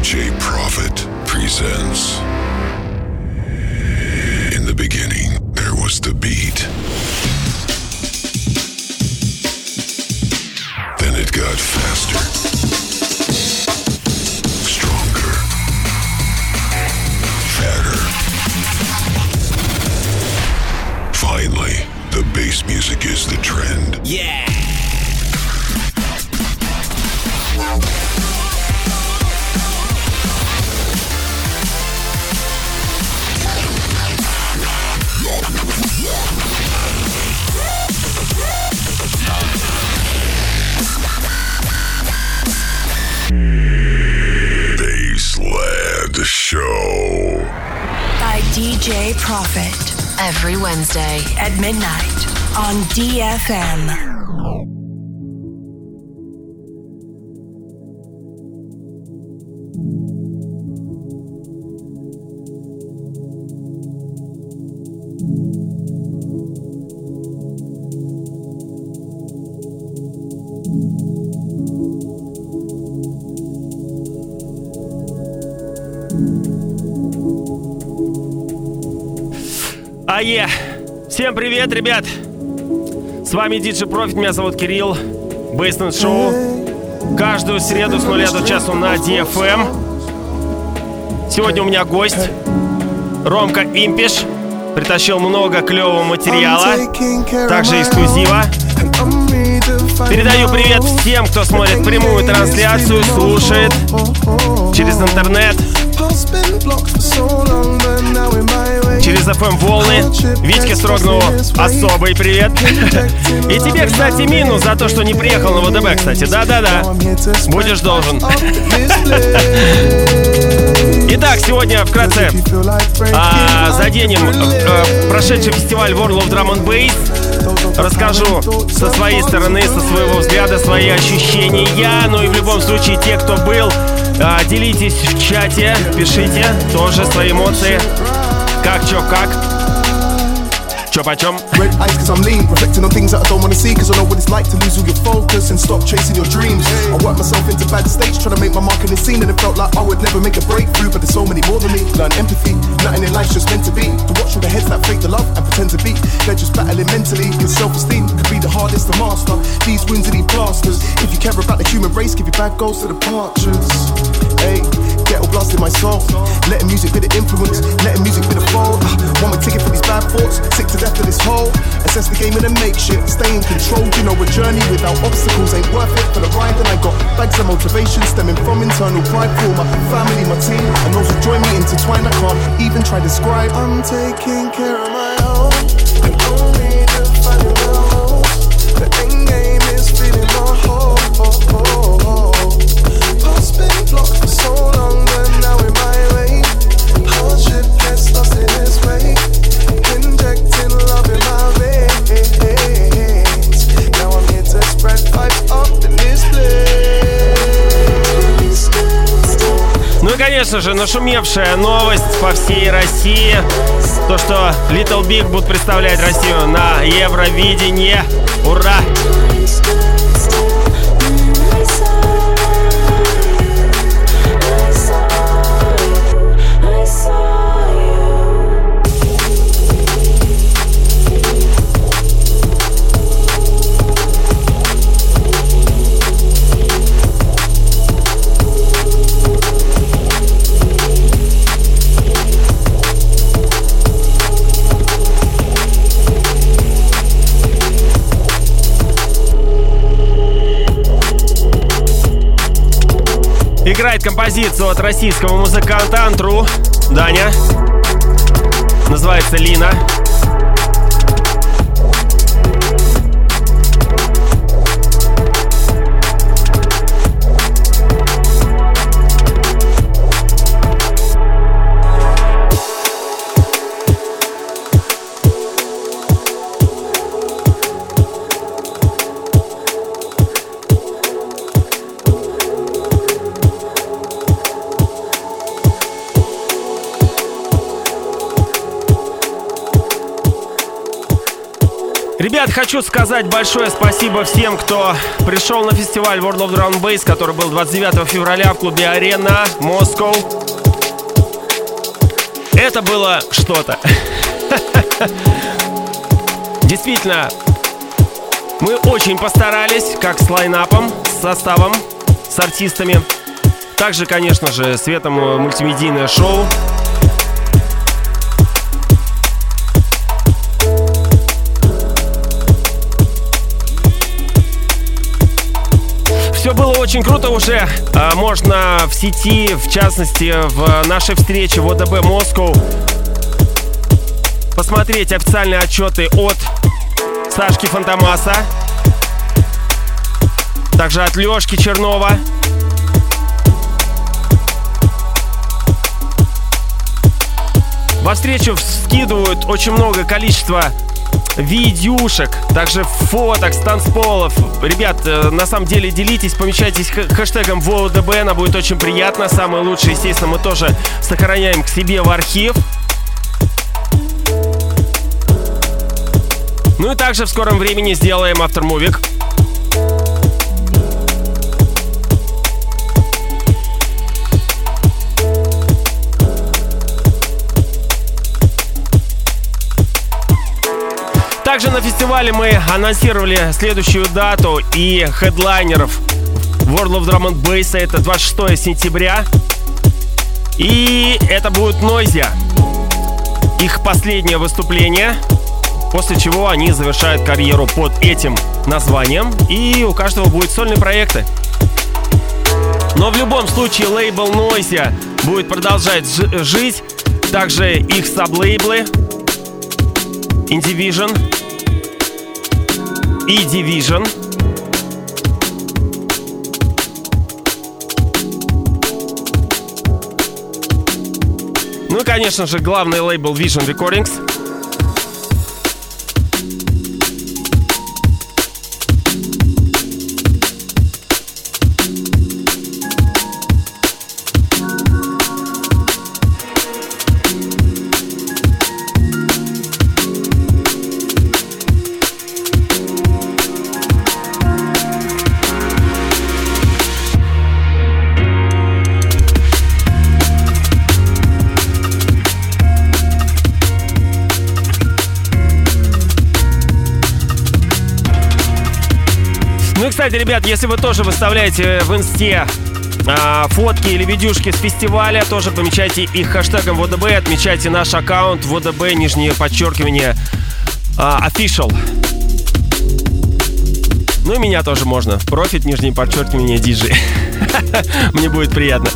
DJ Prophet presents. In the beginning, there was the beat. Then it got faster, stronger, fatter. Finally, the bass music is the trend. Yeah! Bassland Show by DJ Prophet every Wednesday at midnight on DFM. Всем привет, ребят! С вами DJ Prophet, меня зовут Кирилл. Bassland Show. Каждую среду с 0 до часу на DFM. Сегодня у меня гость Ромка Импиш. Притащил много клевого материала, также эксклюзива. Передаю привет всем, кто смотрит прямую трансляцию, слушает через интернет, через FM волны. Витьке Строгнову особый привет. И тебе, кстати, минус за то, что не приехал на ВДБ, кстати. Да-да-да, будешь должен. Итак, сегодня вкратце заденем прошедший фестиваль World of Drum and Bass. Расскажу со своей стороны, со своего взгляда, свои ощущения. Ну и в любом случае, те, кто был, делитесь в чате, пишите тоже свои эмоции. Как, чё, как? Чё почем? Red eyes cause I'm lean, reflecting on things that I don't wanna see, cause I know what it's like to lose all your focus and stop chasing your dreams. I worked myself into bad states, trying to make my mark in the scene, and it felt like I would never make a breakthrough, but there's so many more than me. Learn empathy, nothing in life's just meant to be. To watch all the heads that fake the love and pretend to be, they're just battling mentally, cause self-esteem could be the hardest to master. These wounds are these plasters. If you care about the human race, give your bad goals to the departures. Hey, ghetto blast in my soul, letting music be the influence, letting music be the fold. One way ticket for these bad thoughts, sick to death of this hole. Assess the game and then make shit, stay in control. You know a journey without obstacles ain't worth it for the ride. And I got bags of motivation stemming from internal pride for my family, my team, and those who join me intertwined. I can't even try to describe. I'm taking care of my own, and only to find it out. The end game is feeding my whole. Past been blocked for so long, but now in my way. Hardship gets lost in its way. Injecting love in my veins. Now I'm here to spread vibes up in this place. Ну и, конечно же, нашумевшая новость по всей России. То, что Little Big будут представлять Россию на Евровидении. Ура! Играет композицию от российского музыканта Антру, Даня. Называется «Лина». Ребят, хочу сказать большое спасибо всем, кто пришел на фестиваль World of Drum and Bass, который был 29 февраля в клубе Арена, Москва. Это было что-то. Действительно, мы очень постарались, как с лайнапом, с составом, с артистами. Также, конечно же, светом мультимедийное шоу. Все было очень круто уже. Можно в сети, в частности, в нашей встрече в ОДБ Москва посмотреть официальные отчеты от Сашки Фантомаса, также от Лёшки Чернова. Во встречу скидывают очень много количества видюшек, также фоток с танцполов. Ребят, на самом деле делитесь, помечайтесь хэштегом ВОДБ, она будет очень приятно. Самое лучшее, естественно, мы тоже сохраняем к себе в архив. Ну и также в скором времени сделаем автормувик. Также на фестивале мы анонсировали следующую дату и хедлайнеров World of Drum and Bass. Это 26 сентября. И это будет Noisia. Их последнее выступление, после чего они завершают карьеру под этим названием. И у каждого будут сольные проекты. Но в любом случае лейбл Noisia будет продолжать жить. Также их саблейблы Indivision и Division. Ну и, конечно же, главный лейбл Vision Recordings. Кстати, ребят, если вы тоже выставляете в инсте фотки или видюшки с фестиваля, тоже помечайте их хэштегом ВОДБ, отмечайте наш аккаунт ВОДБ, нижнее подчеркивание, official. Ну и меня тоже можно. Профит, нижнее подчеркивание, DJ. Мне будет приятно.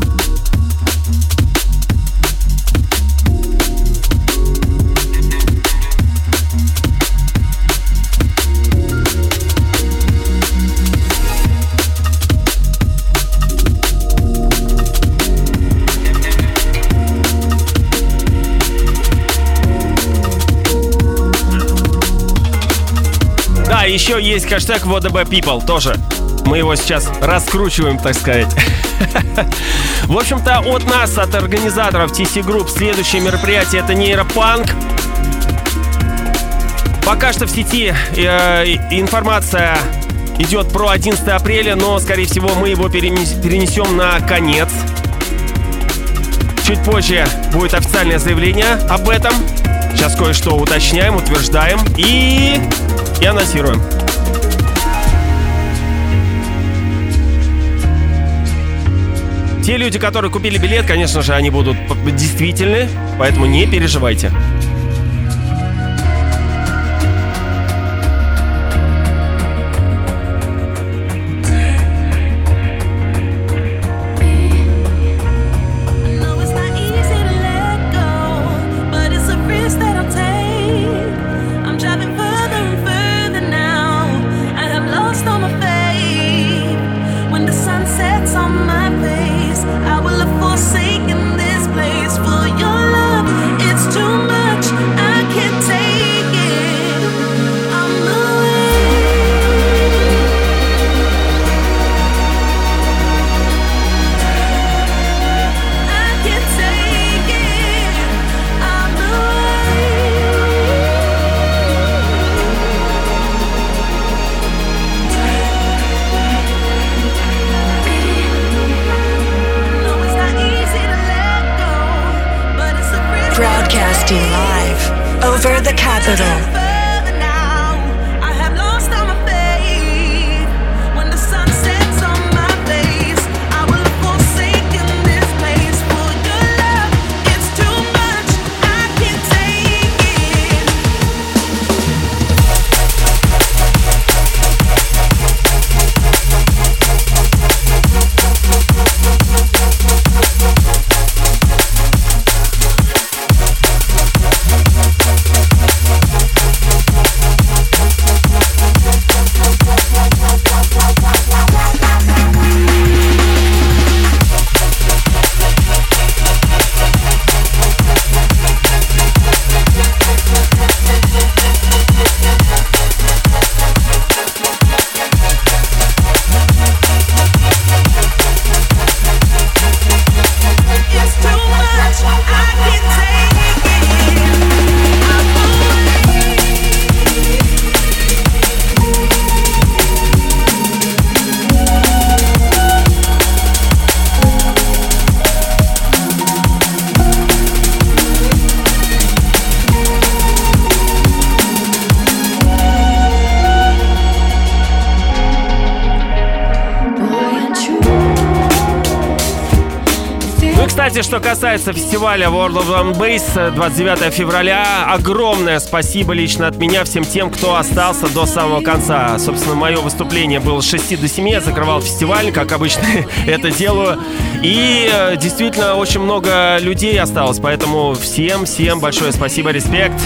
Еще есть хэштег ВОДБ People тоже. Мы его сейчас раскручиваем, так сказать. В общем-то, от нас, от организаторов TC Group, следующее мероприятие — это нейропанк. Пока что в сети информация идет про 11 апреля, но, скорее всего, мы его перенесем на конец. Чуть позже будет официальное заявление об этом. Сейчас кое-что уточняем, утверждаем и анонсируем. Те люди, которые купили билет, конечно же, они будут действительны, поэтому не переживайте. I will have forsaken this place for your love. It's too much. broadcasting live over the capital. Что касается фестиваля World of Drum and Bass 29 февраля, огромное спасибо лично от меня всем тем, кто остался до самого конца. Собственно, мое выступление было с 6 до 7, я закрывал фестиваль, как обычно это делаю. И действительно очень много людей осталось, поэтому всем большое спасибо, респект.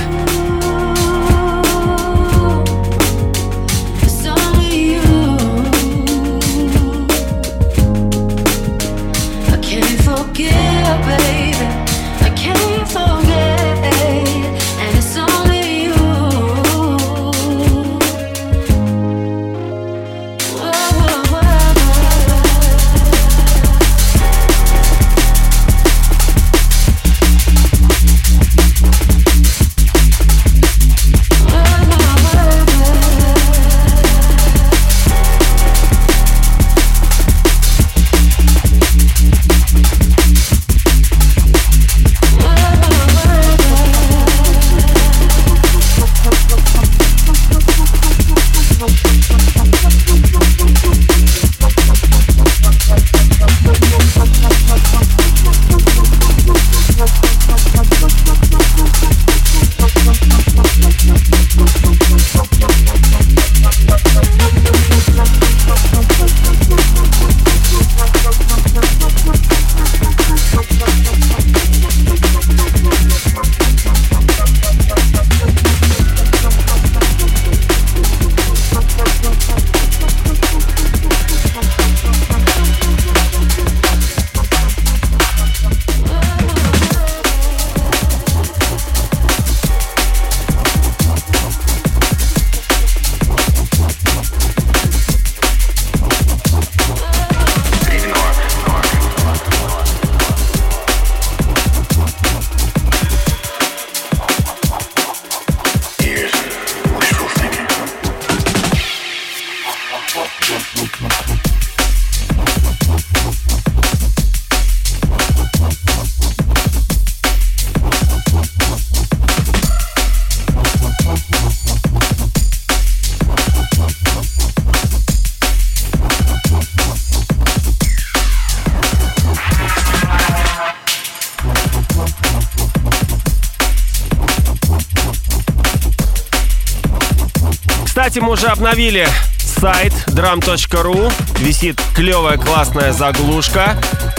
Кстати, мы уже обновили сайт drum.ru. Висит клевая, классная заглушка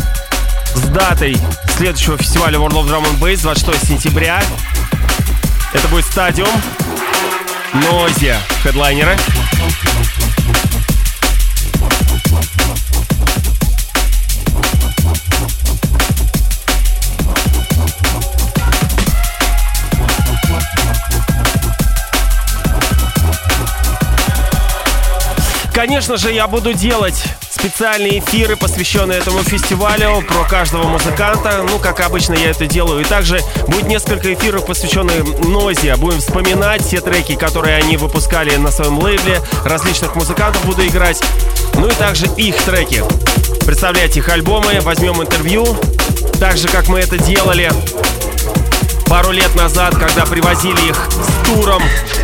с датой следующего фестиваля World of Drum and Bass 26 сентября. Это будет стадиум, Noisia, хедлайнеры. Конечно же, я буду делать специальные эфиры, посвященные этому фестивалю, про каждого музыканта, ну, как обычно я это делаю. И также будет несколько эфиров, посвященных Noisia. Будем вспоминать все треки, которые они выпускали на своем лейбле. Различных музыкантов буду играть. Ну и также их треки. Представлять их альбомы, возьмем интервью. Так же, как мы это делали пару лет назад, когда привозили их с туром.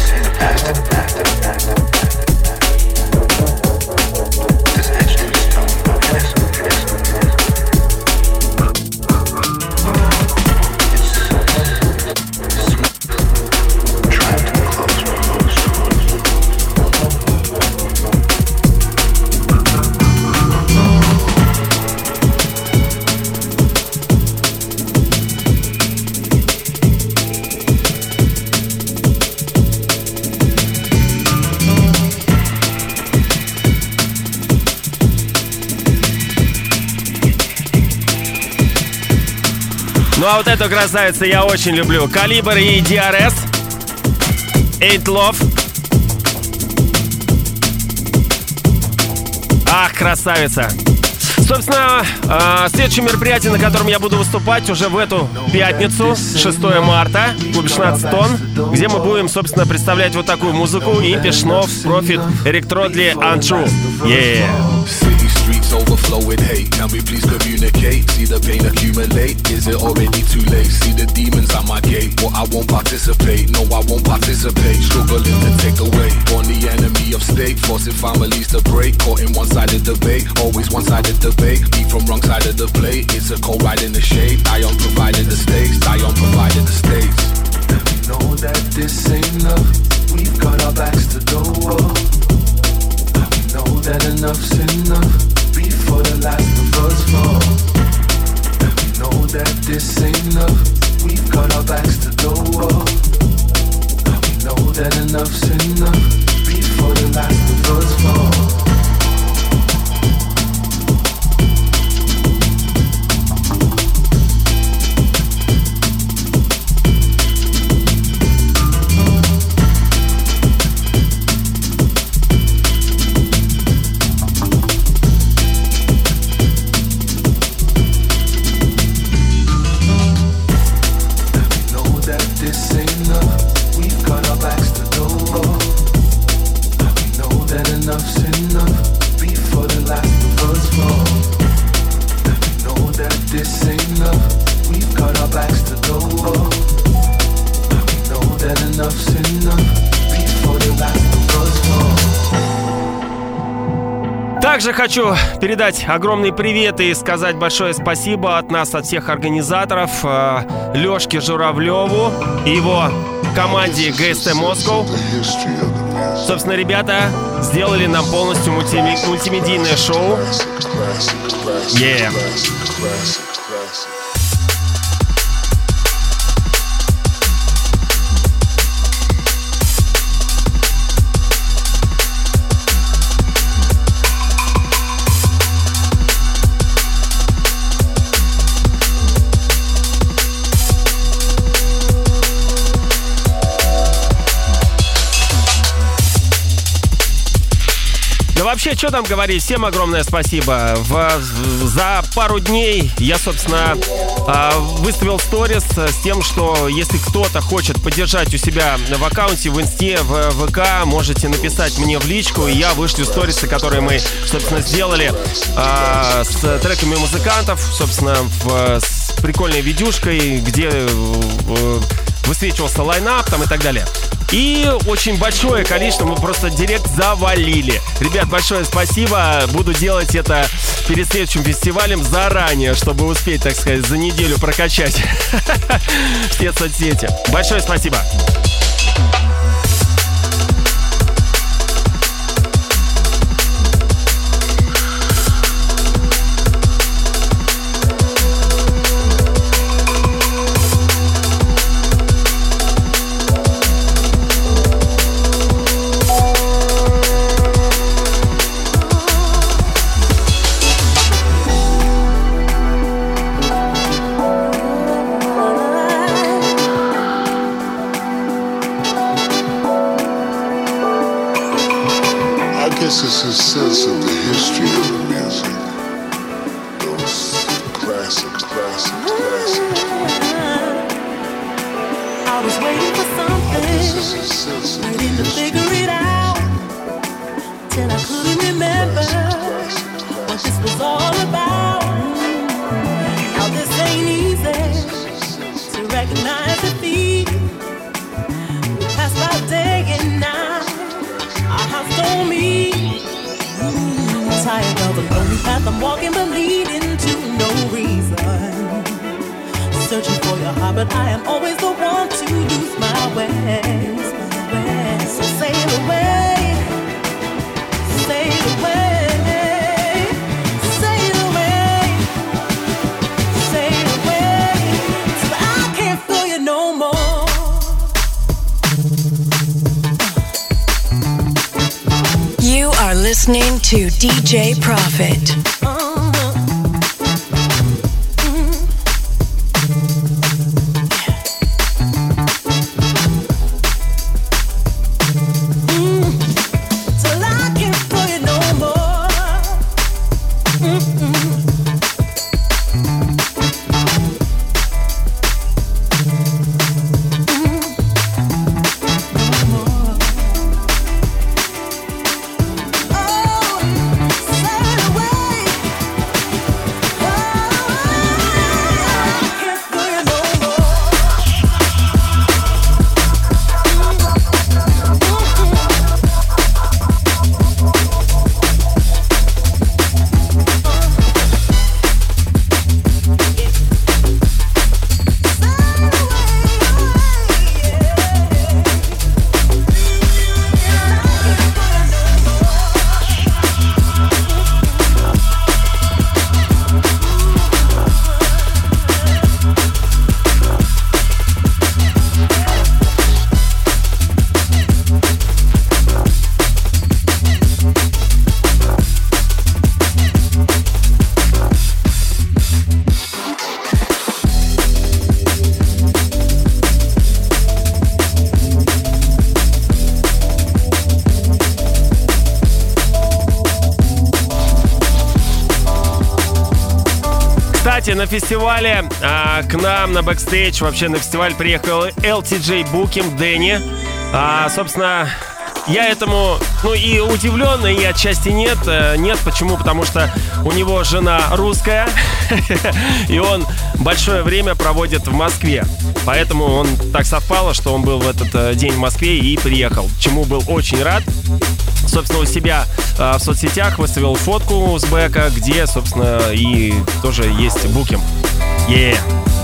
Ну а вот эту красавицу я очень люблю. Калибр и DRS. Eight Love. Ах, красавица. Собственно, следующее мероприятие, на котором я буду выступать уже в эту пятницу, 6 марта, в клубе 16 тонн, где мы будем, собственно, представлять вот такую музыку. Impish, Nov, Profit, Eric Trodley, Untrue. Yeah. Streets overflow with hate. Can we please communicate? See the pain accumulate. Is it already too late? See the demons at my gate. But I won't participate. No, I won't participate. Struggling to take away. Born the enemy of state. Forcing families to break. Caught in one-sided debate. Always one-sided debate. Be from wrong side of the plate. It's a cold ride in the shade. I am providing the stakes. I am providing the stakes. And we know that this ain't love. We've got our backs to the wall. Know that enough's enough before the last of us fall. And we know that this ain't love. We've got our backs to the wall. And we know that enough's enough before the last of us fall. Также хочу передать огромный привет и сказать большое спасибо от нас, от всех организаторов, Лёшке Журавлёву и его команде ГСТ Москва. Собственно, ребята сделали нам полностью мультимедийное шоу. Yeah. Вообще, что там говорить, всем огромное спасибо. За пару дней я, собственно, выставил сторис с тем, что если кто-то хочет поддержать у себя в аккаунте, в инсте, в ВК, можете написать мне в личку, и я вышлю сторисы, которые мы, собственно, сделали с треками музыкантов, собственно, с прикольной видюшкой, где высвечивался лайнап там и так далее. И очень большое количество, мы просто директ завалили. Ребят, большое спасибо. Буду делать это перед следующим фестивалем заранее, чтобы успеть, так сказать, за неделю прокачать все соцсети. Большое спасибо. It's a sense of the history of the music. Those classics. I was waiting for something, waiting to figure it out, till I couldn't remember what this was all about. Now this ain't easy to recognize it. path I'm walking, but leading to no reason. Searching for your heart, but I am always the one to lose my way. So sail away, sail away, sail away, sail away, till I can't feel you no more. You are listening to DJ Prophet. На фестивале к нам на бэкстейдж, вообще на фестиваль приехал LTJ Booking Дэнни. Собственно, я этому, и удивлен, и отчасти нет. Нет, почему? Потому что у него жена русская, и он большое время проводит в Москве. Поэтому он так совпало, что он был в этот день в Москве и приехал, чему был очень рад. Собственно, у себя в соцсетях выставил фотку с бэка, где, собственно, и тоже есть букинг. Yeah.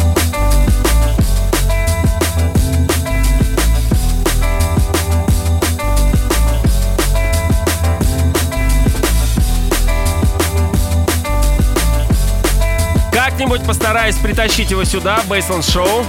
Как-нибудь постараюсь притащить его сюда, Bassline Show.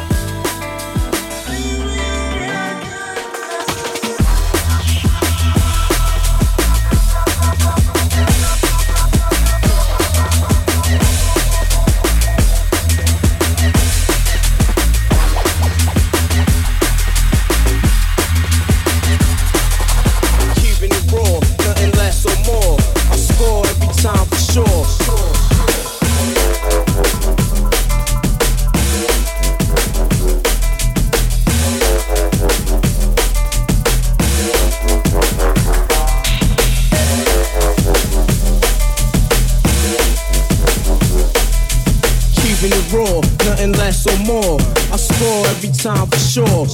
Less or more, I score every time for sure.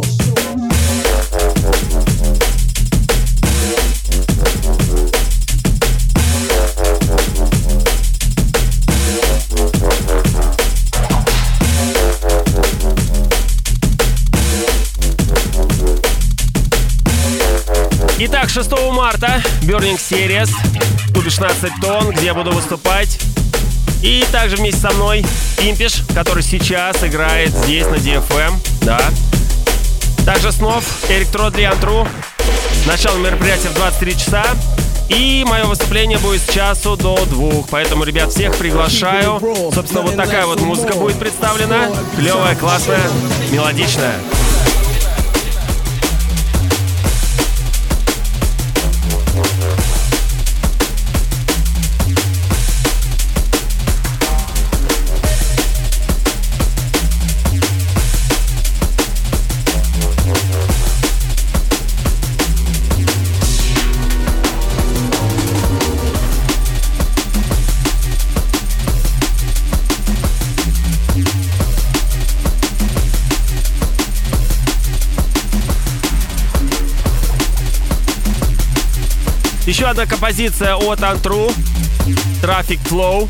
Итак, 6 марта Burning Series, клубе 16 тонн, где я буду выступать. И также вместе со мной Пимпиш, который сейчас играет здесь на DFM, да. Также снов Эрик Тродли Антру. Начало мероприятия в 23 часа. И мое выступление будет с часу до 2. Поэтому, ребят, всех приглашаю. Собственно, вот такая вот музыка будет представлена. Клевая, классная, мелодичная. Еще одна композиция от Антру. Traffic Flow.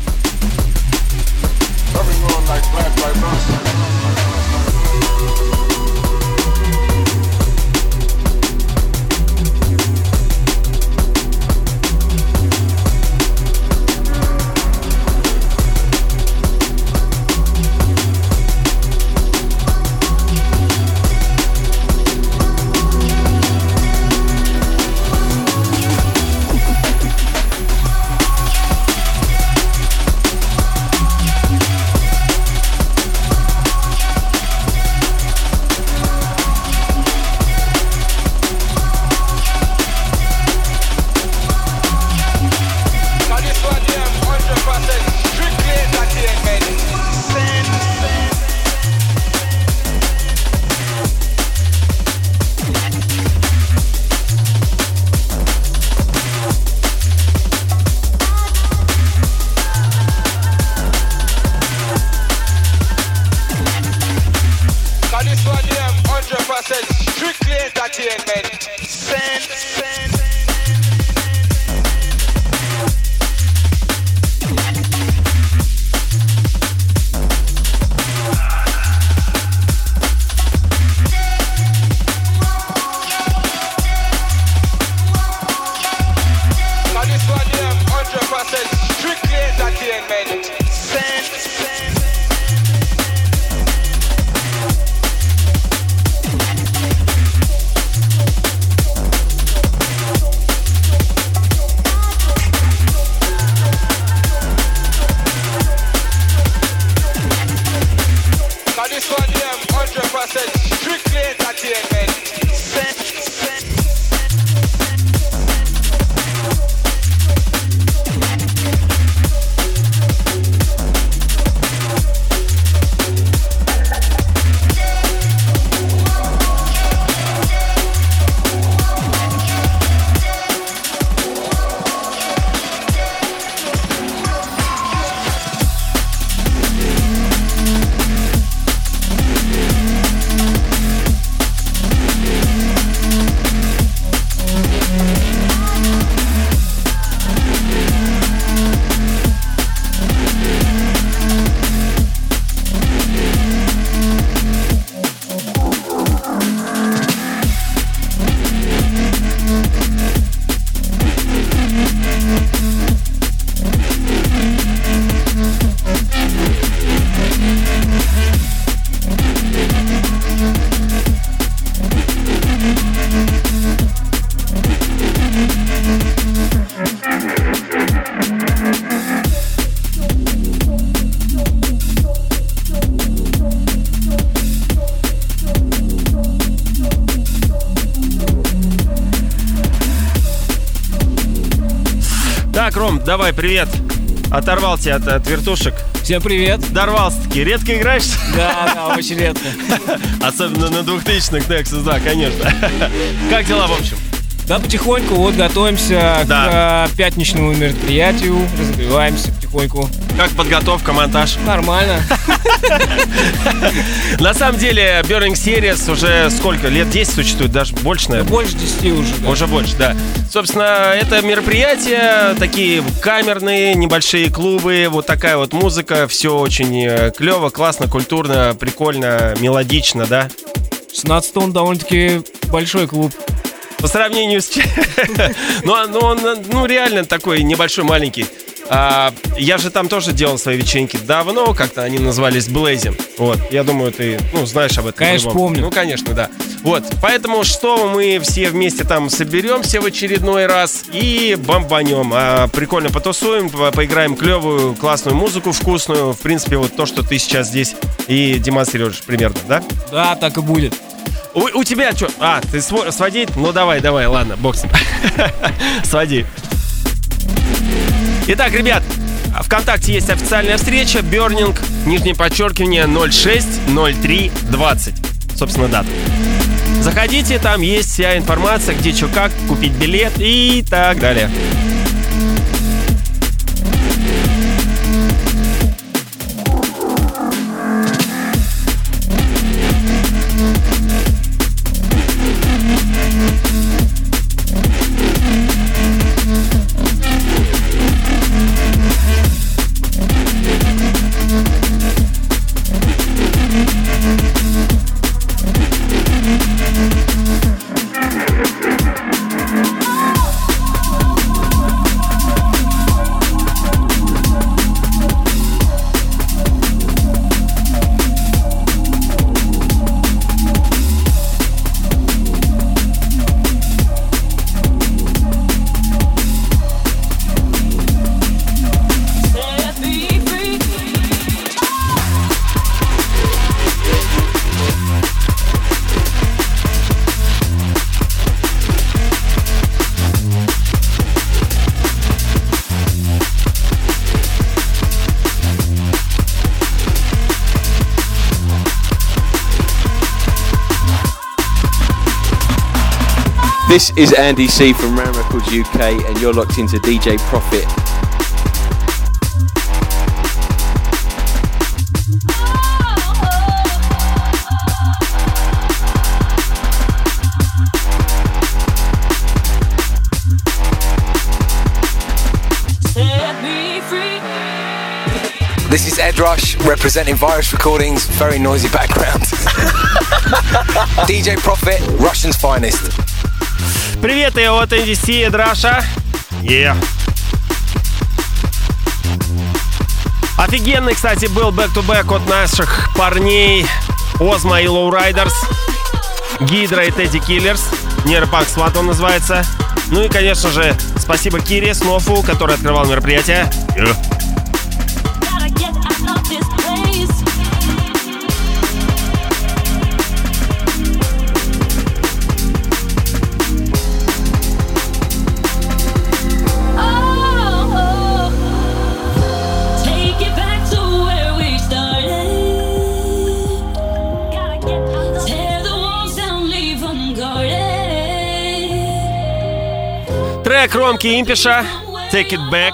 Так, Ром, давай, привет. Оторвал тебя от вертушек. Всем привет. Дорвался-таки. Редко играешь? Да, очень редко. Особенно на 2000-х Nexus, да, конечно. Как дела, в общем? Да, потихоньку, вот готовимся к пятничному мероприятию, развиваемся потихоньку. Как подготовка, монтаж? Нормально. На самом деле, Burning Series уже сколько? Лет 10 существует, даже больше, наверное. Больше 10 уже, да. Уже больше, да. Собственно, это мероприятия, такие камерные, небольшие клубы, вот такая вот музыка, все очень клево, классно, культурно, прикольно, мелодично, да? 16 он довольно-таки большой клуб. По сравнению с... Ну, реально такой небольшой, маленький. Я же там тоже делал свои вечеринки давно, как-то они назывались Blazing. Вот, я думаю, ты, знаешь об этом. Конечно, помню. Ну, конечно, да. Вот, поэтому что мы все вместе там соберемся в очередной раз и бомбанем. Прикольно потусуем, поиграем клевую, классную музыку, вкусную. В принципе, вот то, что ты сейчас здесь и демонстрируешь примерно, да? Да, так и будет. У тебя что? Ты сводить? Ну, давай, ладно, бокс. Своди. Итак, ребят, ВКонтакте есть официальная встреча Burning, _ 060320. Собственно, дата. Заходите, там есть вся информация, где что как, купить билет и так далее. This is Andy C from Ram Records UK, and you're locked into DJ Profit. This is Ed Rush representing Virus Recordings, very noisy background. DJ Profit, Russian's finest. Привет, и от NDC, Ed Rusha. Yeah. Офигенный, кстати, был бэк-то-бэк от наших парней Озма и Lowriders, Гидра и Тедди Киллерс. Нейропанк Сват он называется. Ну и, конечно же, спасибо Кире Снофу, который открывал мероприятие. Yeah. Трек Ромки Импиша, Take It Back.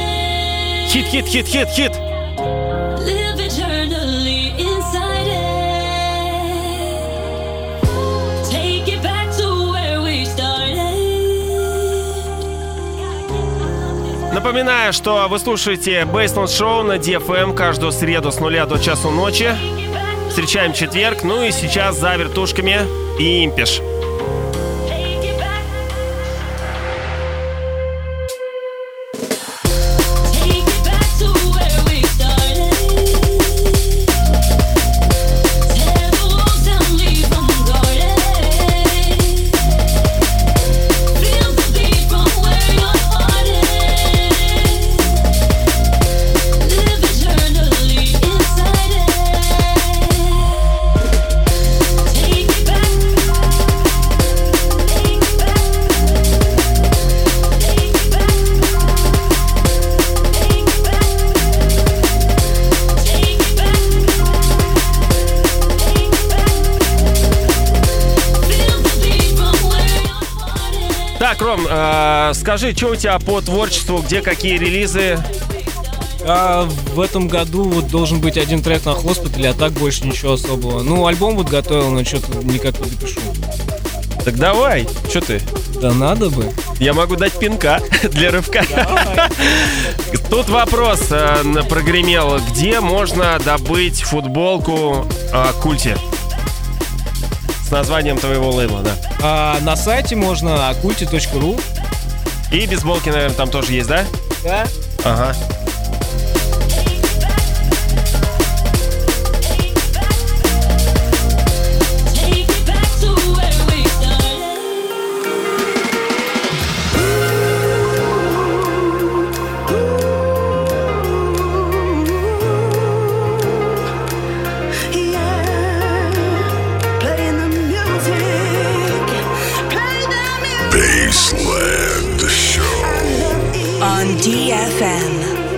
Хит. Напоминаю, что вы слушаете Bassland Show на DFM каждую среду с 0 до часу ночи. Встречаем четверг, ну и сейчас за вертушками и Импиш. Так, Ром, скажи, что у тебя по творчеству, где какие релизы? В этом году вот должен быть один трек на Хоспитале, а так больше ничего особого. Ну, альбом вот готовил, но что-то никак не допишу. Так давай, что ты? Да надо бы. Я могу дать пинка для рывка. Тут вопрос прогремел. Где можно добыть футболку Культи? С названием твоего лейбла, да. На сайте можно occulti.ru. И бейсболки, наверное, там тоже есть, да? Да. Ага. On DFM.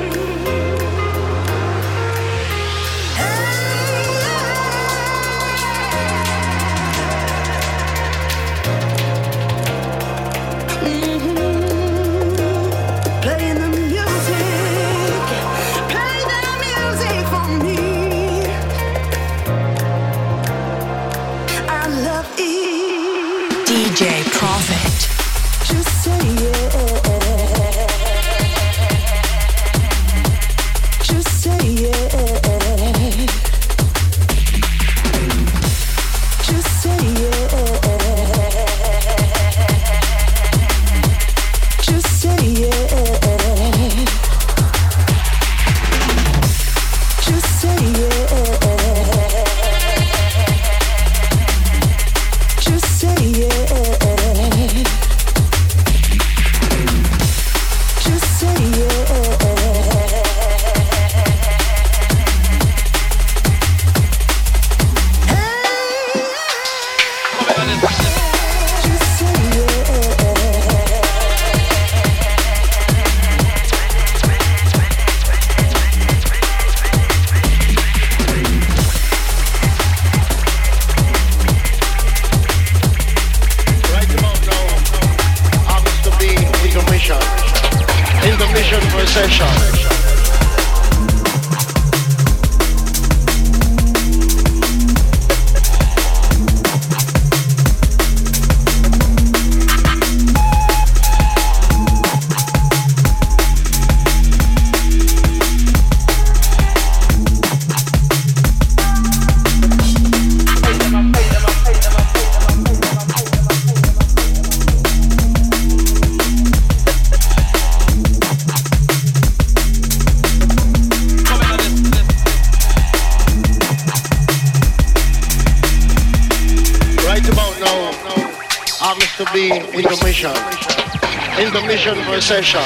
to be intermission. Intermission for a session.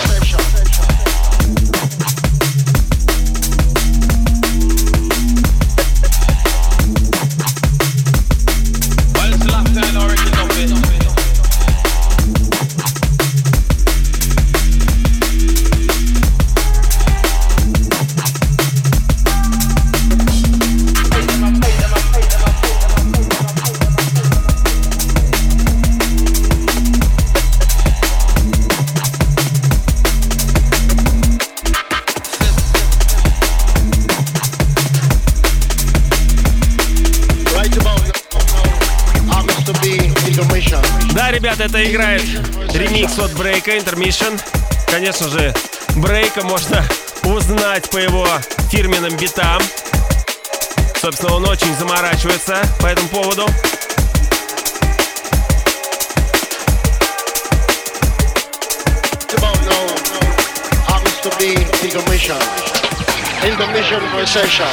Ребята, это играет ремикс от Брейка, Intermission. Конечно же, Брейка можно узнать по его фирменным битам. Собственно, он очень заморачивается по этому поводу. Intermission for a session.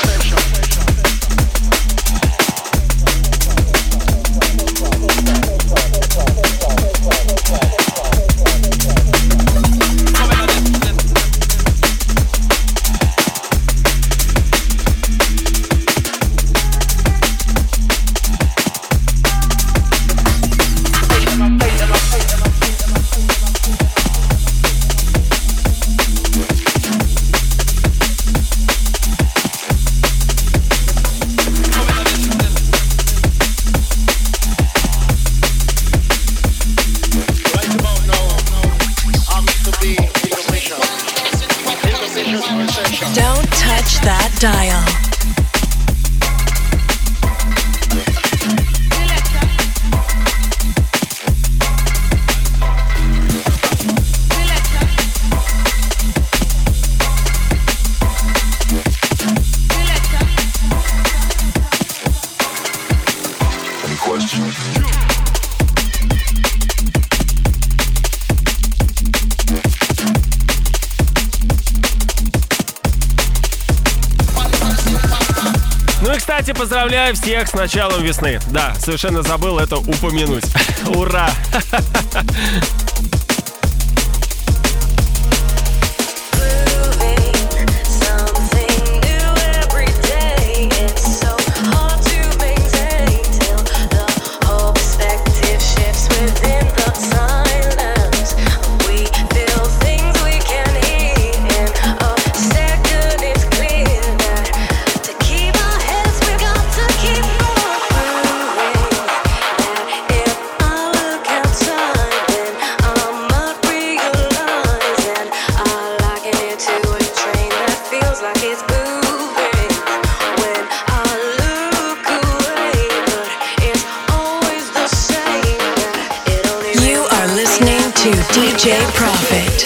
Don't touch that dial. Any questions? Ну и, кстати, поздравляю всех с началом весны. Да, совершенно забыл это упомянуть. Ура! To DJ Profit.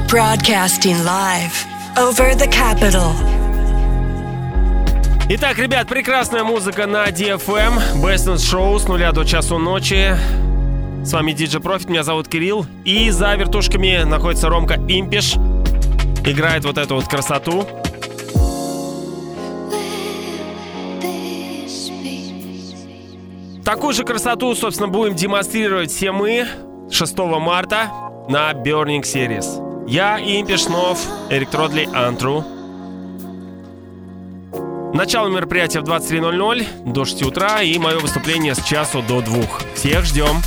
Broadcasting live over the capital. Итак, ребят, прекрасная музыка на DFM. Best in Show с 0 до часу ночи. С вами DJ Profit, меня зовут Кирилл. И за вертушками находится Ромка Импиш. Играет вот эту вот красоту. Такую же красоту, собственно, будем демонстрировать все мы 6 марта на Burning Series. Я, Импиш, Снов, Эрик Тродли, Антру. Начало мероприятия в 23:00 до 6 утра и мое выступление с часу до 2. Всех ждем.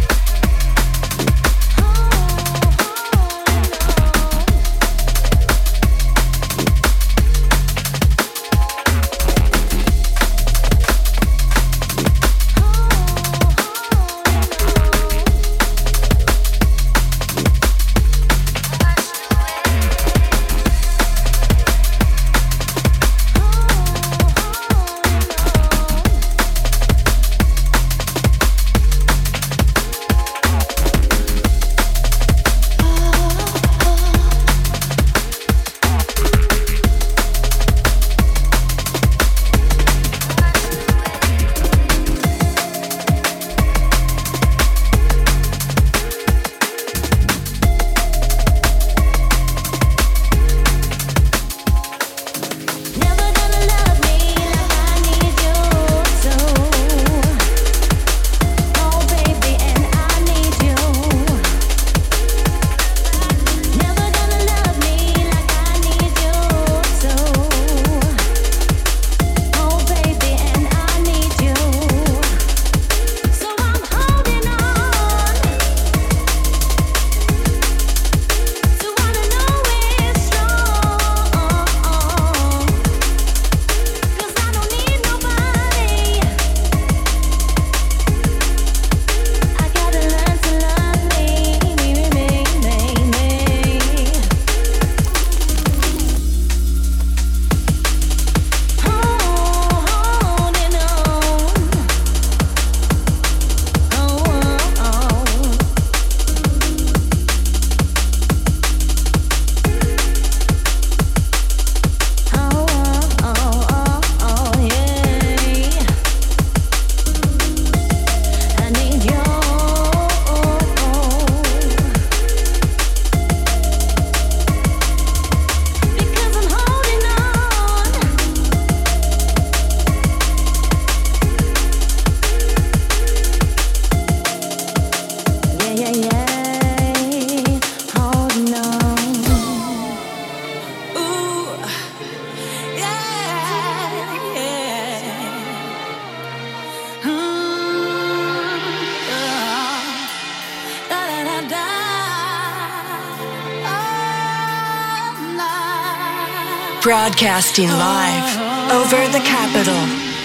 Broadcasting live over the capital.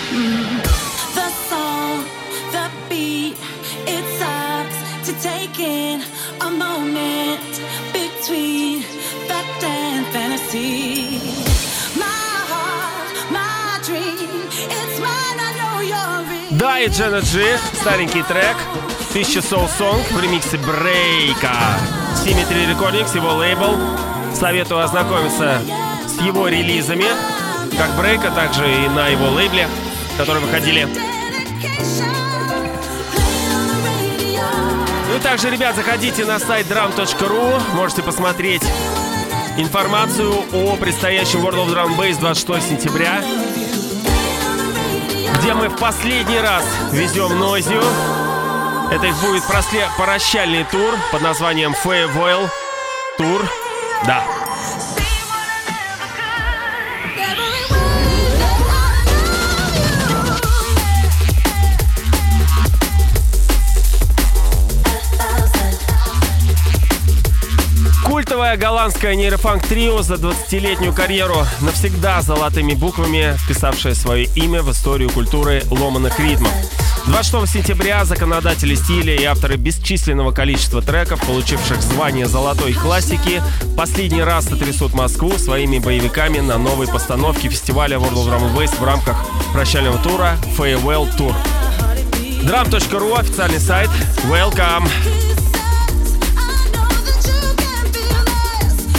The song, the beat, it sucks to take in a moment between fact and fantasy. My heart, my dream, it's mine, I know you're real. Да, и Джена Джи, старенький трек, 1000 Soul Song в ремиксе Брейка. Symmetry Recordings, его лейбл. Советую ознакомиться с его релизами, как Брейка, так же и на его лейбле, которые выходили. Ну и также, ребят, заходите на сайт drum.ru, можете посмотреть информацию о предстоящем World of Drum Bass 26 сентября, где мы в последний раз везем Нойзию. Это их будет прощальный тур под названием Farewell Tour. Да. Культовое голландское нейрофанк-трио за 20-летнюю карьеру, навсегда золотыми буквами вписавшее свое имя в историю культуры ломаных ритмов. 26 сентября законодатели стиля и авторы бесчисленного количества треков, получивших звание золотой классики, последний раз сотрясут Москву своими боевиками на новой постановке фестиваля World of Drum Bass в рамках прощального тура Farewell Tour. Drum.ru, официальный сайт. Welcome!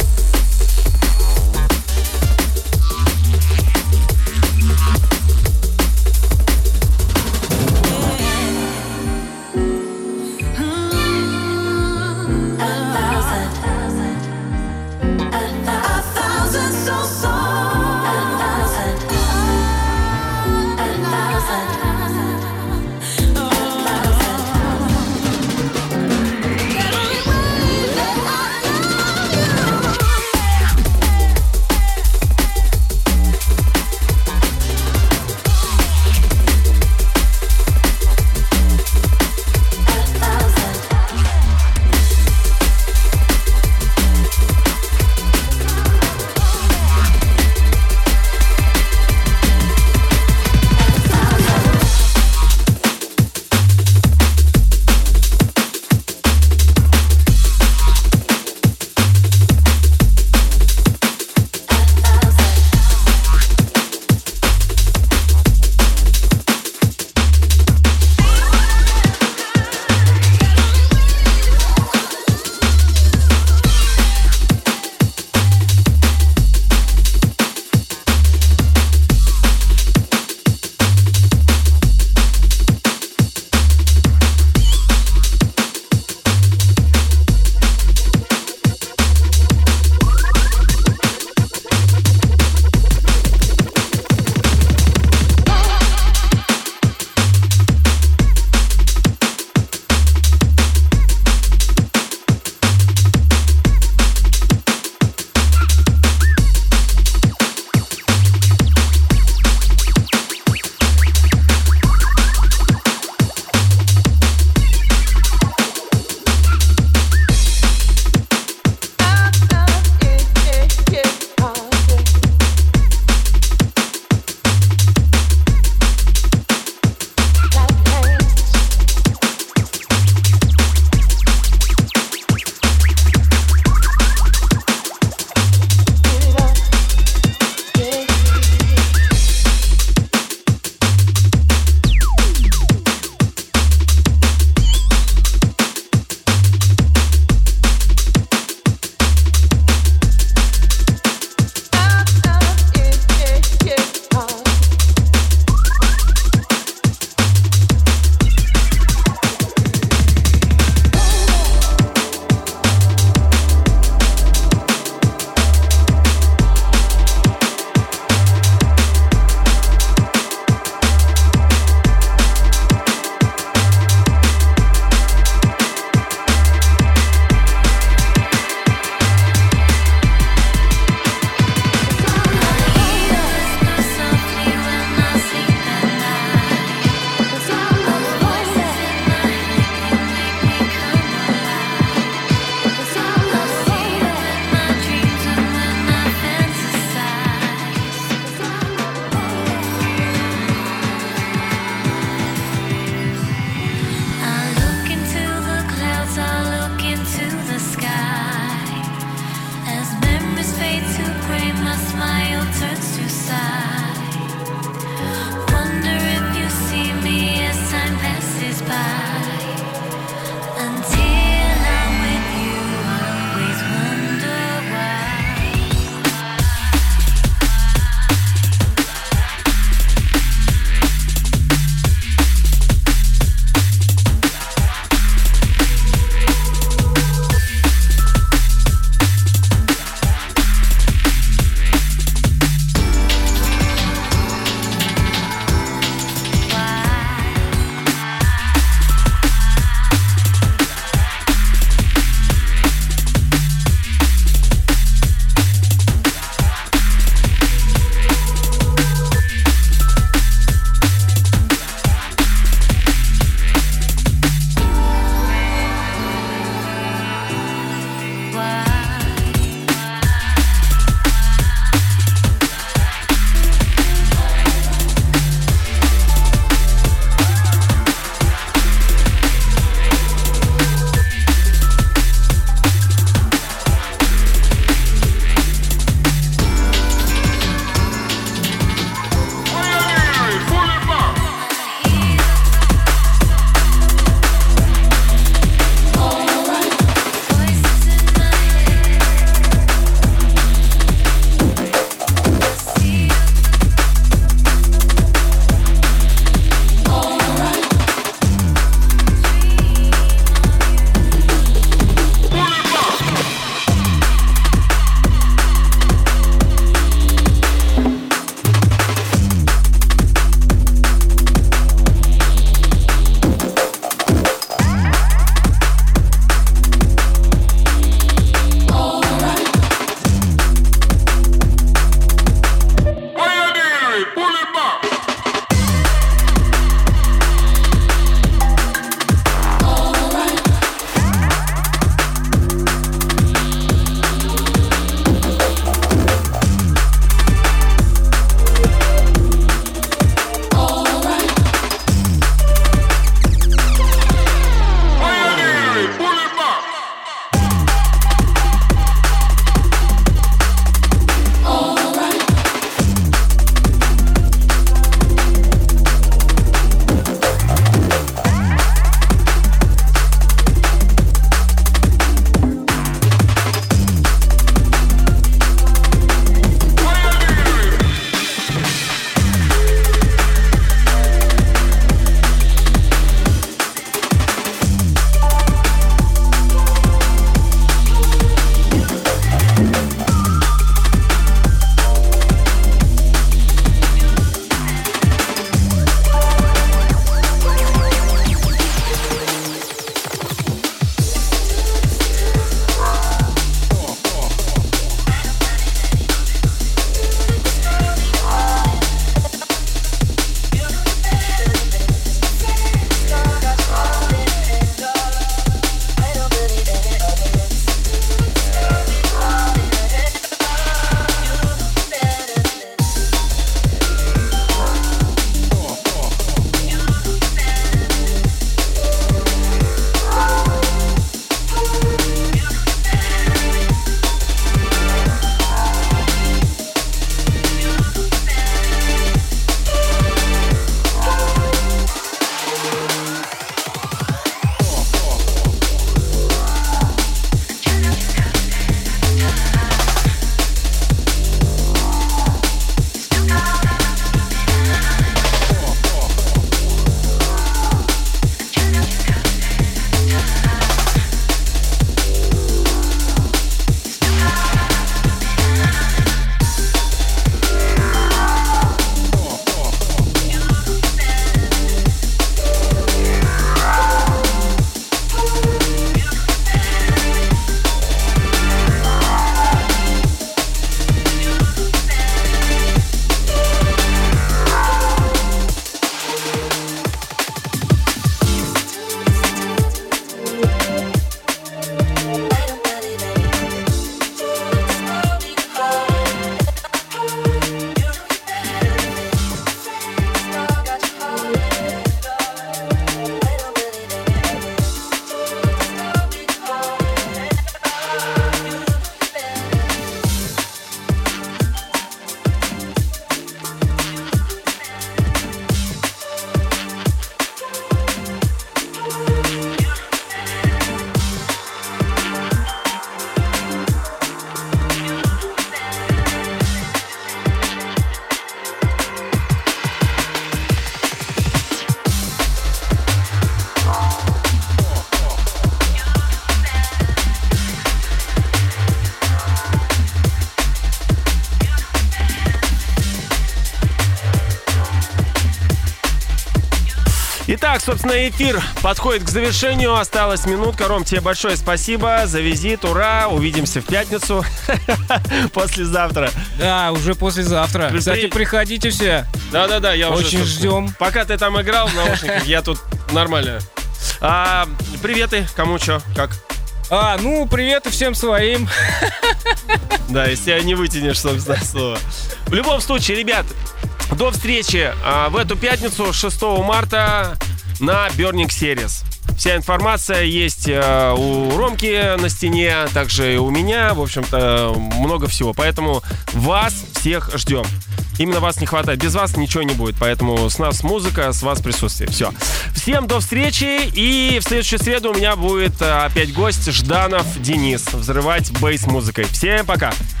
Итак, собственно, эфир подходит к завершению. Осталась минутка. Ром, тебе большое спасибо за визит. Ура! Увидимся в пятницу. Послезавтра. Да, уже послезавтра. Кстати, приходите все. Да, я уже... Очень ждем. Пока ты там играл в наушниках, я тут нормально. Приветы. Кому что, как? Привет и всем своим. Да, если тебя не вытянешь, собственно, слово. В любом случае, ребят, до встречи в эту пятницу, 6 марта, на Burning Series. Вся информация есть у Ромки на стене, также и у меня. В общем-то, много всего. Поэтому вас всех ждем. Именно вас не хватает. Без вас ничего не будет. Поэтому с нас музыка, с вас присутствие. Все. Всем до встречи. И в следующую среду у меня будет опять гость Жданов Денис. Взрывать бейс музыкой. Всем пока.